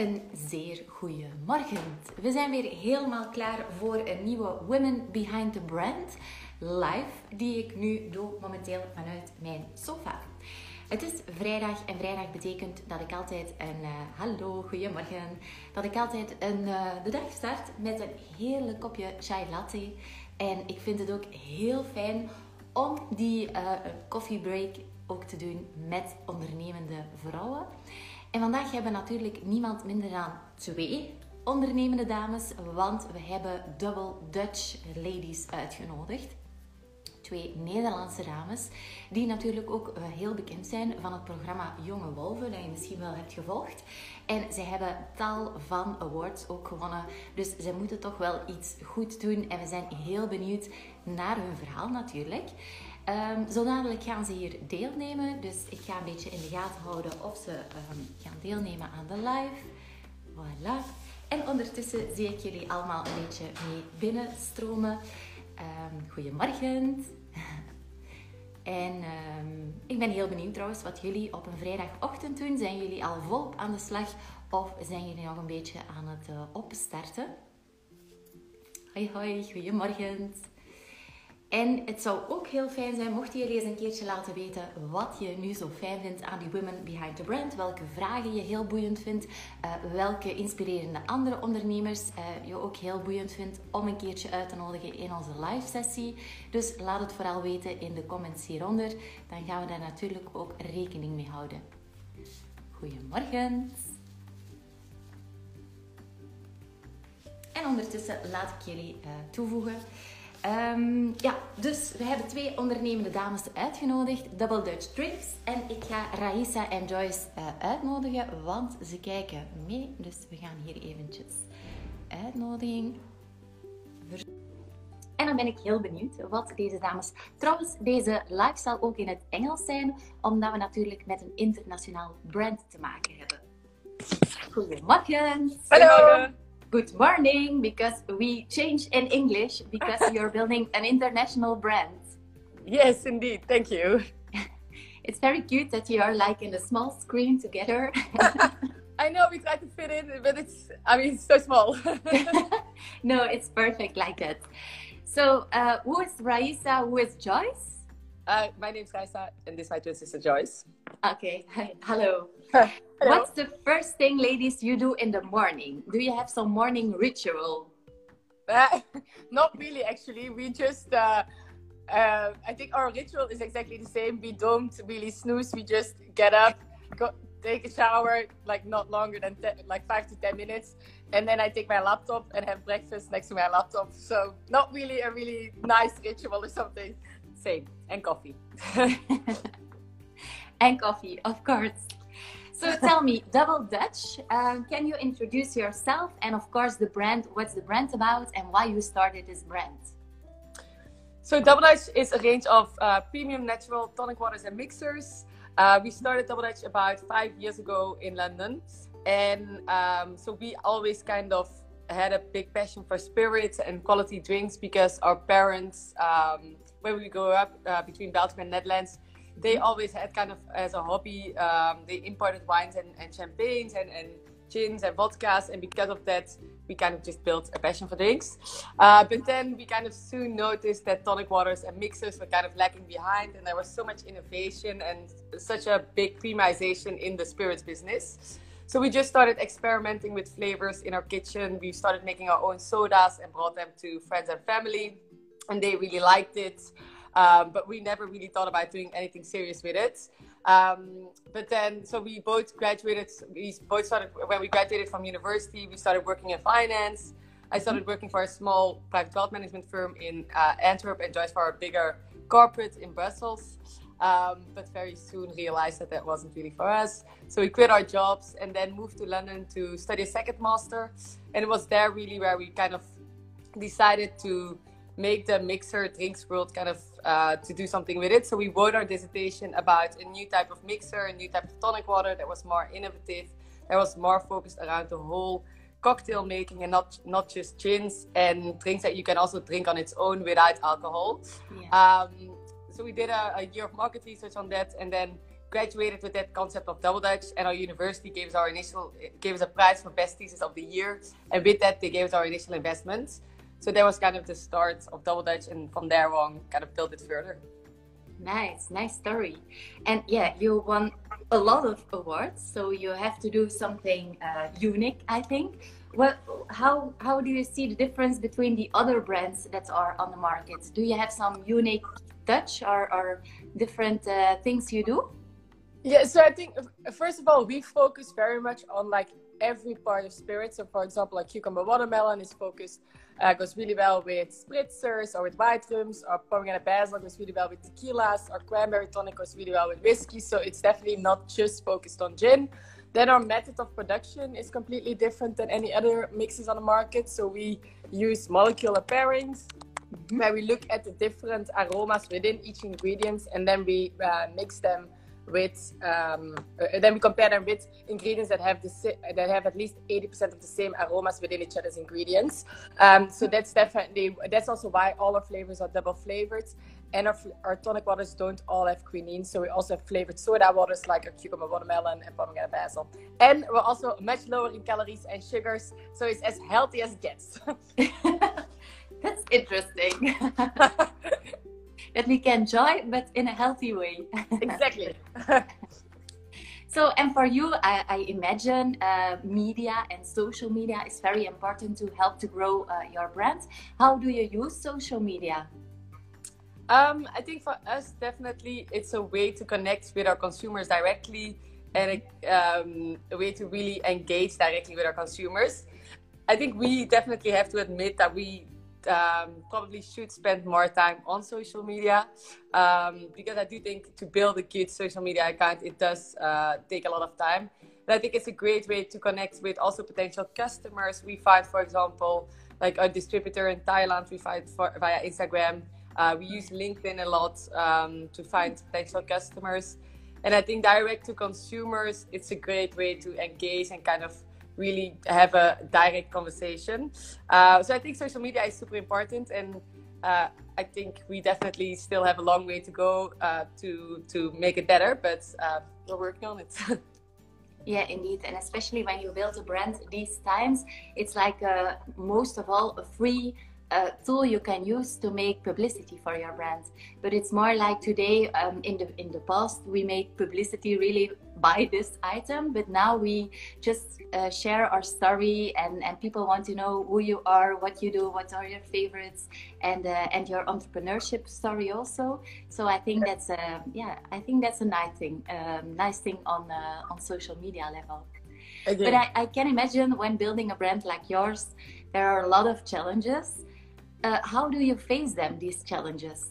Een zeer goede morgen. We zijn weer helemaal klaar voor een nieuwe Women Behind the Brand live, die ik nu doe momenteel vanuit mijn sofa. Het is vrijdag en vrijdag betekent dat ik altijd hallo, goedemorgen, dat ik altijd de dag start met een heerlijk kopje chai latte. En ik vind het ook heel fijn om die koffiebreak ook te doen met ondernemende vrouwen. En vandaag hebben we natuurlijk niemand minder dan 2 ondernemende dames, want we hebben Double Dutch Ladies uitgenodigd. 2 Nederlandse dames, die natuurlijk ook heel bekend zijn van het programma Jonge Wolven, dat je misschien wel hebt gevolgd. En zij hebben tal van awards ook gewonnen, dus zij moeten toch wel iets goed doen. En we zijn heel benieuwd naar hun verhaal natuurlijk. Zo dadelijk gaan ze hier deelnemen, dus ik ga een beetje in de gaten houden of ze gaan deelnemen aan de live. Voilà. En ondertussen zie ik jullie allemaal een beetje mee binnenstromen. Goedemorgen. En ik ben heel benieuwd trouwens wat jullie op een vrijdagochtend doen. Zijn jullie al volop aan de slag of zijn jullie nog een beetje aan het opstarten? Hoi hoi, goedemorgen. En het zou ook heel fijn zijn mochten jullie eens een keertje laten weten wat je nu zo fijn vindt aan die Women Behind the Brand. Welke vragen je heel boeiend vindt. Welke inspirerende andere ondernemers je ook heel boeiend vindt om een keertje uit te nodigen in onze live sessie. Dus laat het vooral weten in de comments hieronder. Dan gaan we daar natuurlijk ook rekening mee houden. Goedemorgen. En ondertussen laat ik jullie toevoegen. Dus we hebben 2 ondernemende dames uitgenodigd, Double Dutch Drinks. En ik ga Raissa en Joyce uitnodigen, want ze kijken mee. Dus we gaan hier eventjes uitnodiging. En dan ben ik heel benieuwd wat deze dames... Trouwens, deze live zal ook in het Engels zijn, omdat we natuurlijk met een internationaal brand te maken hebben. Goedemorgen. Hallo. Good morning, because we change in English because you're building an international brand. Yes, indeed. Thank you. It's very cute that you are like in a small screen together. I know we try to fit in, but it's so small. No, it's perfect like that. So, who is Raissa? Who is Joyce? My name is Raissa, and this is my twin sister Joyce. Okay, hi. Hello. Hello. What's the first thing, ladies, you do in the morning? Do you have some morning ritual? Not really, actually. We just, I think our ritual is exactly the same. We don't really snooze. We just get up, go take a shower, like not longer than 5 to 10 minutes. And then I take my laptop and have breakfast next to my laptop. So not really a really nice ritual or something. Same. And coffee. And coffee, of course. So tell me, Double Dutch, can you introduce yourself and of course the brand, what's the brand about and why you started this brand? So Double Dutch is a range of premium natural tonic waters and mixers. We started Double Dutch about 5 years ago in London. And so we always kind of had a big passion for spirits and quality drinks because our parents, when we grew up between Belgium and Netherlands, they always had kind of as a hobby, they imported wines and champagnes and gins and vodkas. And because of that, we kind of just built a passion for drinks. But then we kind of soon noticed that tonic waters and mixers were kind of lacking behind. And there was so much innovation and such a big premiumization in the spirits business. So we just started experimenting with flavors in our kitchen. We started making our own sodas and brought them to friends and family. And they really liked it. But we never really thought about doing anything serious with it. But then, so we both graduated, when we graduated from university, we started working in finance. I started working for a small private wealth management firm in Antwerp and Joyce for a bigger corporate in Brussels. But very soon realized that wasn't really for us. So we quit our jobs and then moved to London to study a second master. And it was there really where we kind of decided to make the mixer drinks world kind of to do something with it. So we wrote our dissertation about a new type of mixer, a new type of tonic water that was more innovative, that was more focused around the whole cocktail making and not just gins and drinks that you can also drink on its own without alcohol. Yeah. So we did a year of market research on that and then graduated with that concept of Double Dutch, and our university gave us a prize for best thesis of the year, and with that they gave us our initial investment. So that was kind of the start of Double Dutch, and from there on kind of built it further. Nice story. And yeah, you won a lot of awards, so you have to do something unique, I think. Well, how do you see the difference between the other brands that are on the market? Do you have some unique touch or different things you do? Yeah, so I think first of all, we focus very much on like every part of spirit. So for example, like cucumber watermelon is focused, goes really well with spritzers or with white rums, or pomegranate basil goes really well with tequilas, or cranberry tonic goes really well with whiskey. So it's definitely not just focused on gin. Then our method of production is completely different than any other mixes on the market. So we use molecular pairings, where we look at the different aromas within each ingredient, and then we mix them with, then we compare them with ingredients that have at least 80% of the same aromas within each other's ingredients. So that's also why all our flavors are double flavored, and our tonic waters don't all have quinine. So we also have flavored soda waters like our cucumber watermelon and pomegranate basil, and we're also much lower in calories and sugars, so it's as healthy as it gets. That's interesting. That we can enjoy, but in a healthy way. Exactly. So, and for you, I imagine media and social media is very important to help to grow your brand. How do you use social media? I think for us, definitely, it's a way to connect with our consumers directly, and a way to really engage directly with our consumers. I think we definitely have to admit that we probably should spend more time on social media, because I do think to build a good social media account, it does take a lot of time. And I think it's a great way to connect with also potential customers. We find, for example, like a distributor in Thailand, we find via Instagram. We use LinkedIn a lot to find potential customers. And I think direct to consumers, it's a great way to engage and kind of really have a direct conversation. So I think social media is super important, and I think we definitely still have a long way to go to make it better, but we're working on it. Yeah, indeed. And especially when you build a brand these times, it's like most of all a free tool you can use to make publicity for your brand. But it's more like today, in the past, we made publicity really by this item, but now we just share our story, and people want to know who you are, what you do, what are your favorites, and your entrepreneurship story also. So I think that's a nice thing on social media level. Okay. But I can imagine when building a brand like yours, there are a lot of challenges. How do you face them, these challenges?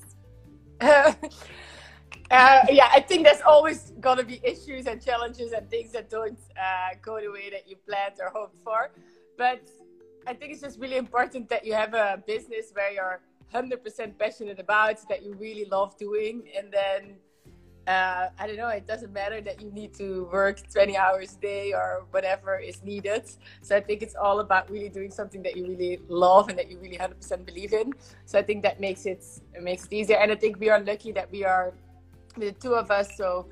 Yeah, I think there's always going to be issues and challenges and things that don't go the way that you planned or hoped for. But I think it's just really important that you have a business where you're 100% passionate about, that you really love doing. And then, I don't know, it doesn't matter that you need to work 20 hours a day or whatever is needed. So I think it's all about really doing something that you really love and that you really 100% believe in. So I think that makes it easier. And I think we are lucky that we are the two of us. So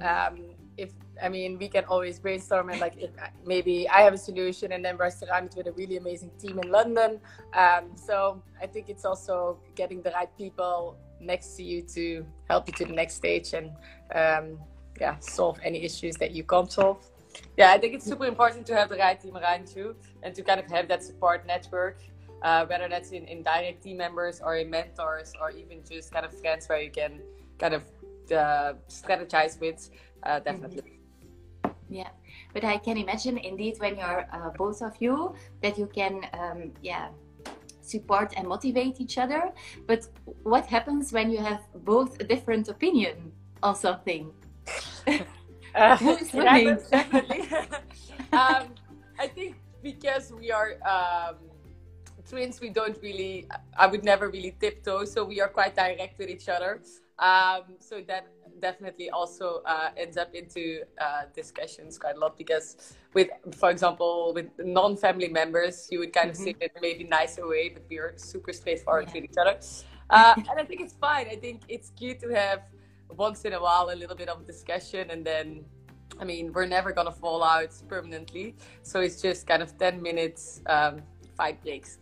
we can always brainstorm, and like if maybe I have a solution, and then we're surrounded with a really amazing team in London. So I think it's also getting the right people next to you to help you to the next stage, and solve any issues that you can't solve. Yeah, I think it's super important to have the right team around you, and to kind of have that support network, whether that's in direct team members or in mentors, or even just kind of friends where you can kind of strategize with, definitely. Yeah, but I can imagine indeed when you're both of you, that you can support and motivate each other. But what happens when you have both a different opinion on something? Who's winning? Definitely. I think because we are twins, I would never really tiptoe, so we are quite direct with each other. So that definitely also ends up into discussions quite a lot, because for example, with non-family members, you would kind of say it in a maybe nicer way, but we are super straightforward with each other. And I think it's fine. I think it's cute to have once in a while a little bit of discussion, and then I mean, we're never gonna fall out permanently, so it's just kind of 10 minutes fight breaks.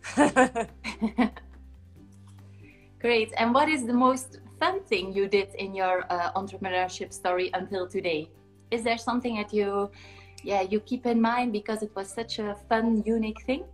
Great. And what is the most fun thing you did in your entrepreneurship story until today? Is there something that you keep in mind because it was such a fun, unique thing?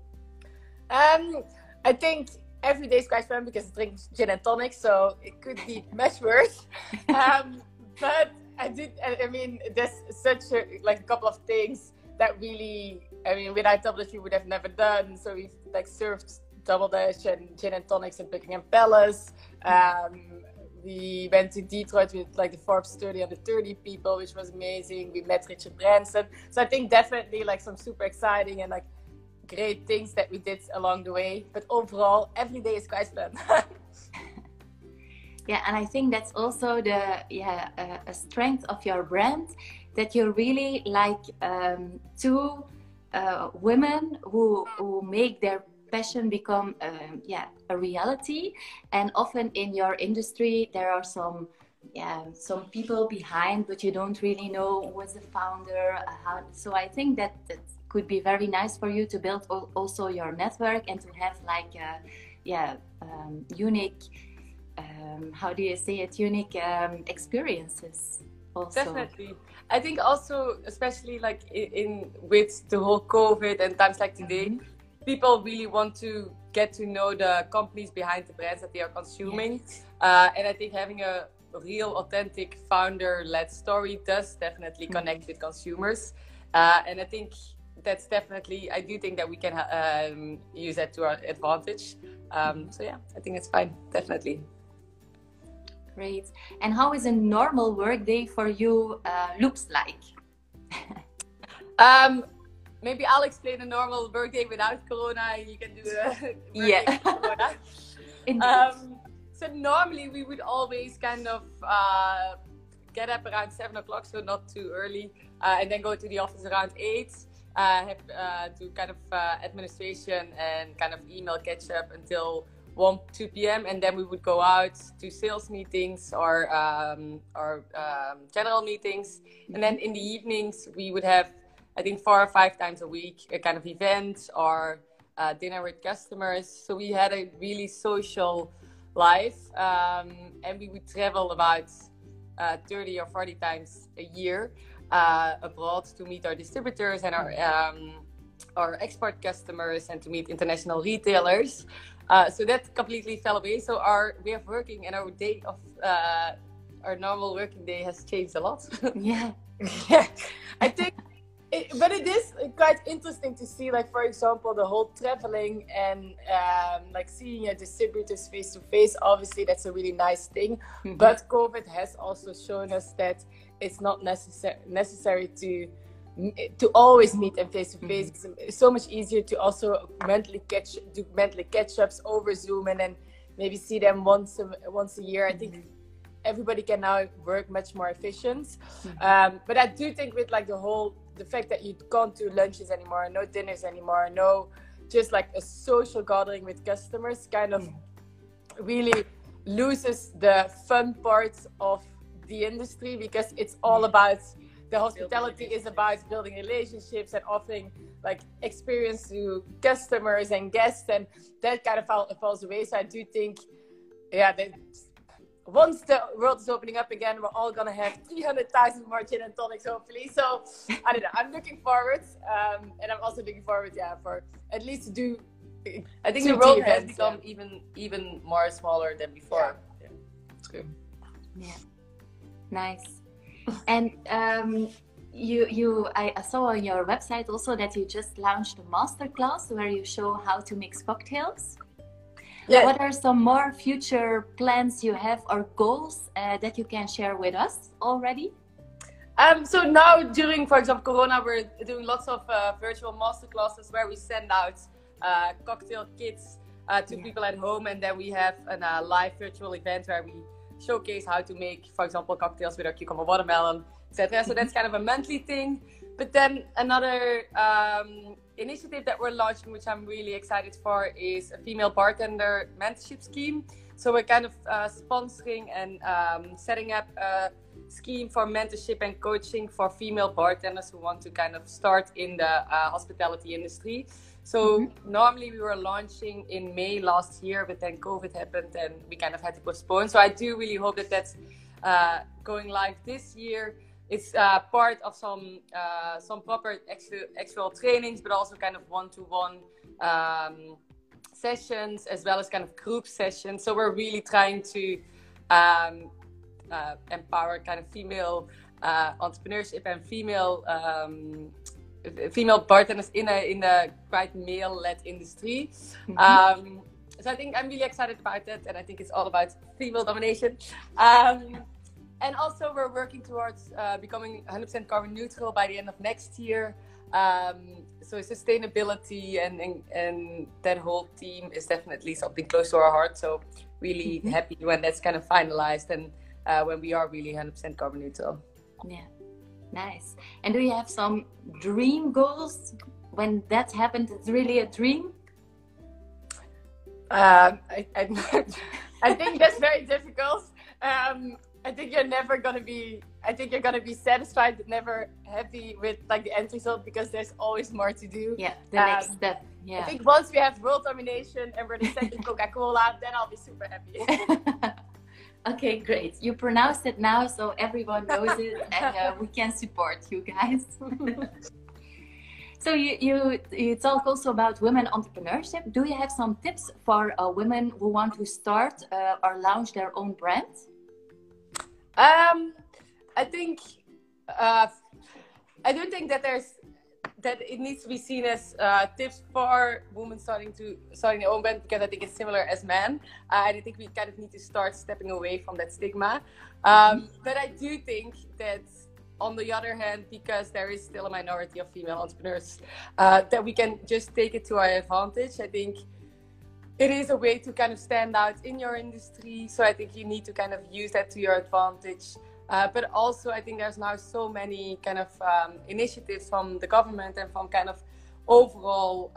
I think every day is quite fun because I drink gin and tonic, so it could be much worse. But I mean, there's such a couple of things that really, I mean, without Double Dutch we would have never done. So we've like served Double Dutch and gin and tonics in Buckingham Palace. We went to Detroit with like the Forbes 30 under 30 people, which was amazing. We met Richard Branson. So I think definitely like some super exciting and like great things that we did along the way. But overall, every day is quite fun. Yeah, and I think that's also a strength of your brand, that you're really like two women who make their passion become a reality. And often in your industry there are some people behind, but you don't really know who was the founder, so I think that could be very nice for you to build also your network and to have like unique how do you say it, unique experiences also. Definitely. I think also, especially like with the whole COVID and times like today, people really want to get to know the companies behind the brands that they are consuming. Yes. And I think having a real authentic founder-led story does definitely connect with consumers. And I think that's definitely, I do think that we can use that to our advantage. So yeah, I think it's fine, definitely. Great. And how is a normal work day for you looks like? Maybe I'll explain a normal work day without Corona. You can do a work day with Corona. So normally we would always kind of get up around 7 o'clock, so not too early, and then go to the office around 8. Have to kind of administration and kind of email catch up until 1-2 p.m. and then we would go out to sales meetings or general meetings, and then in the evenings we would have, I think, 4 or 5 times a week a kind of event or dinner with customers. So we had a really social life, and we would travel about 30 or 40 times a year abroad to meet our distributors and our export customers and to meet international retailers. So that completely fell away. So our way of working and our day of our normal working day has changed a lot. Yeah. I think, but it is quite interesting to see, like, for example, the whole traveling and like seeing your distributors face to face. Obviously, that's a really nice thing. But COVID has also shown us that it's not necessary to always meet them face to face. It's so much easier to also mentally catch ups over Zoom and then maybe see them once a year. I think everybody can now work much more efficient. But I do think with like the fact that you can't do lunches anymore, no dinners anymore, no just like a social gathering with customers, kind of really loses the fun parts of the industry, because it's all about the hospitality is about building relationships and offering like experience to customers and guests, and that kind of falls away. So I do think, that once the world is opening up again, we're all gonna have 300,000 more gin and tonics, hopefully. So I don't know. I'm looking forward, and I'm also looking forward, for at least to do. I think the world has become even more smaller than before. Yeah. It's good. Yeah. Nice. And I saw on your website also that you just launched a masterclass where you show how to mix cocktails. Yeah. What are some more future plans you have or goals that you can share with us already? So now during, for example, Corona, we're doing lots of virtual masterclasses where we send out cocktail kits to people at home, and then we have a live virtual event where we showcase how to make, for example, cocktails with our cucumber watermelon, etc. So that's kind of a monthly thing. But then another initiative that we're launching, which I'm really excited for, is a female bartender mentorship scheme. So we're kind of sponsoring and setting up a scheme for mentorship and coaching for female bartenders who want to kind of start in the hospitality industry. So normally we were launching in May last year, but then COVID happened and we kind of had to postpone. So I do really hope that that's going live this year. It's part of some proper actual trainings, but also kind of one-to-one sessions, as well as kind of group sessions. So we're really trying to empower kind of female entrepreneurship and female bartenders in a quite male-led industry. So I think I'm really excited about that, and I think it's all about female domination. And also we're working towards becoming 100% carbon neutral by the end of next year. So sustainability and that whole theme is definitely something close to our heart. So really happy when that's kind of finalized and when we are really 100% carbon neutral. Yeah. Nice. And do you have some dream goals when that happened? It's really a dream. I think that's very difficult. I think you're never gonna be. I think you're gonna be satisfied, but never happy with like the end result, because there's always more to do. Yeah, the next step. Yeah. I think once we have world domination and we're the second Coca-Cola, then I'll be super happy. Okay, great. You pronounced it now, so everyone knows it, and we can support you guys. So you talk also about women entrepreneurship. Do you have some tips for women who want to start or launch their own brand? I think I do think that it needs to be seen as tips for women starting their own brand, because I think it's similar as men, and I think we kind of need to start stepping away from that stigma. But I do think that, on the other hand, because there is still a minority of female entrepreneurs, that we can just take it to our advantage. I think it is a way to kind of stand out in your industry. So I think you need to kind of use that to your advantage. But also, I think there's now so many kind of initiatives from the government and from kind of overall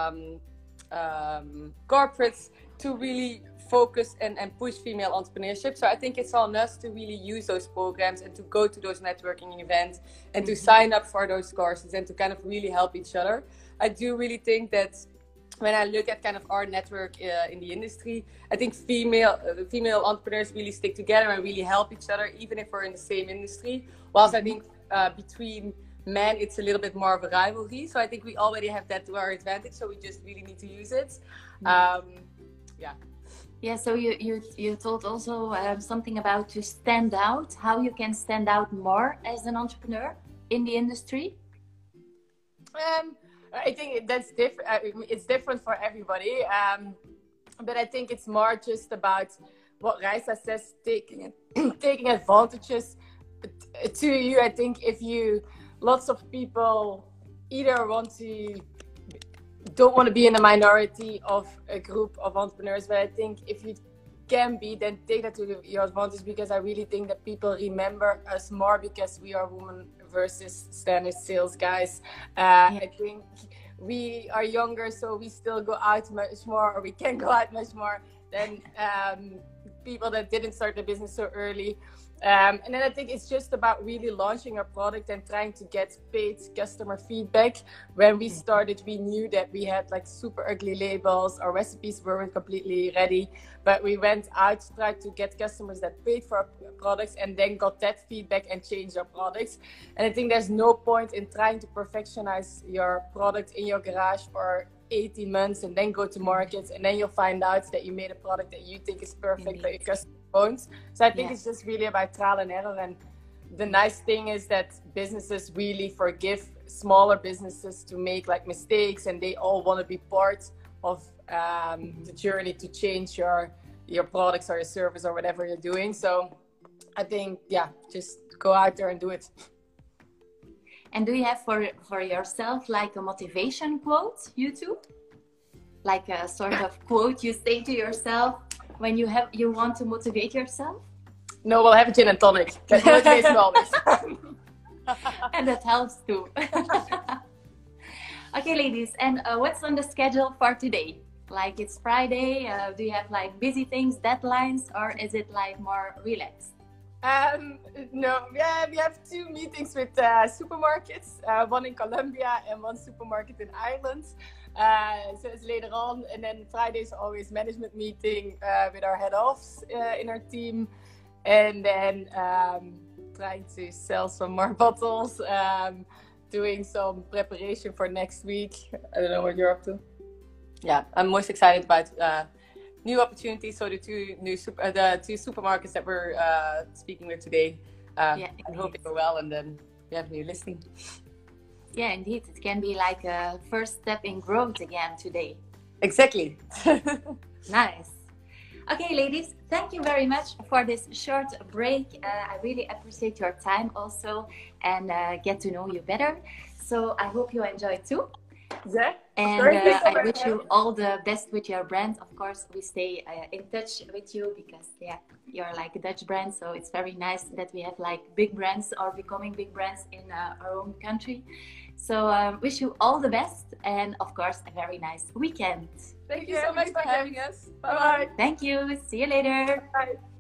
corporates to really focus and push female entrepreneurship. So I think it's on us to really use those programs and to go to those networking events and to sign up for those courses and to kind of really help each other. I do really think that when I look at kind of our network in the industry, I think female entrepreneurs really stick together and really help each other, even if we're in the same industry. Whilst I think between men, it's a little bit more of a rivalry. So I think we already have that to our advantage. So we just really need to use it. Yeah. Yeah. So you told also something about to stand out, how you can stand out more as an entrepreneur in the industry. I think that's different. It's different for everybody. But I think it's more just about what Raisa says, taking advantages to you. I think lots of people either don't want to be in a minority of a group of entrepreneurs, but I think if you can be, then take that to your advantage, because I really think that people remember us more because we are women versus standard sales guys. I think we are younger, so we still go out much more, or we can go out much more than people that didn't start the business so early. And then I think it's just about really launching our product and trying to get paid customer feedback. When we started, we knew that we had like super ugly labels. Our recipes weren't completely ready, but we went out, tried to get customers that paid for our products, and then got that feedback and changed our products. And I think there's no point in trying to perfectionize your product in your garage for 18 months and then go to market, and then you'll find out that you made a product that you think is perfect, but your customer won't. So I think it's just really about trial and error. And the nice thing is that businesses really forgive smaller businesses to make like mistakes, and they all want to be part of the journey to change your products or your service or whatever you're doing. So I think, just go out there and do it. And do you have for yourself like a motivation quote, you two? Like a sort of quote you say to yourself when you want to motivate yourself? No, we'll have a gin and tonic. That motivates me always. And that helps too. Okay, ladies, and what's on the schedule for today? Like it's Friday. Do you have like busy things, deadlines, or is it like more relaxed? No, yeah, we have 2 meetings with supermarkets, one in Colombia and one supermarket in Ireland. So it's later on, and then Friday is always management meeting with our head offs in our team, and then trying to sell some more bottles, doing some preparation for next week. I don't know what you're up to. Yeah, I'm most excited about new opportunities. So the 2 supermarkets that we're speaking with today. I hope they go well, and then we have a new listing. Yeah, indeed. It can be like a first step in growth again today. Exactly. Nice. Okay, ladies, thank you very much for this short break. I really appreciate your time also, and get to know you better. So I hope you enjoyed too. Yeah. And I wish you all the best with your brand. Of course, we stay in touch with you because you're like a Dutch brand. So it's very nice that we have like big brands or becoming big brands in our own country. So wish you all the best, and of course, a very nice weekend. Thank you so much for having us. Bye-bye. Thank you. See you later. Bye.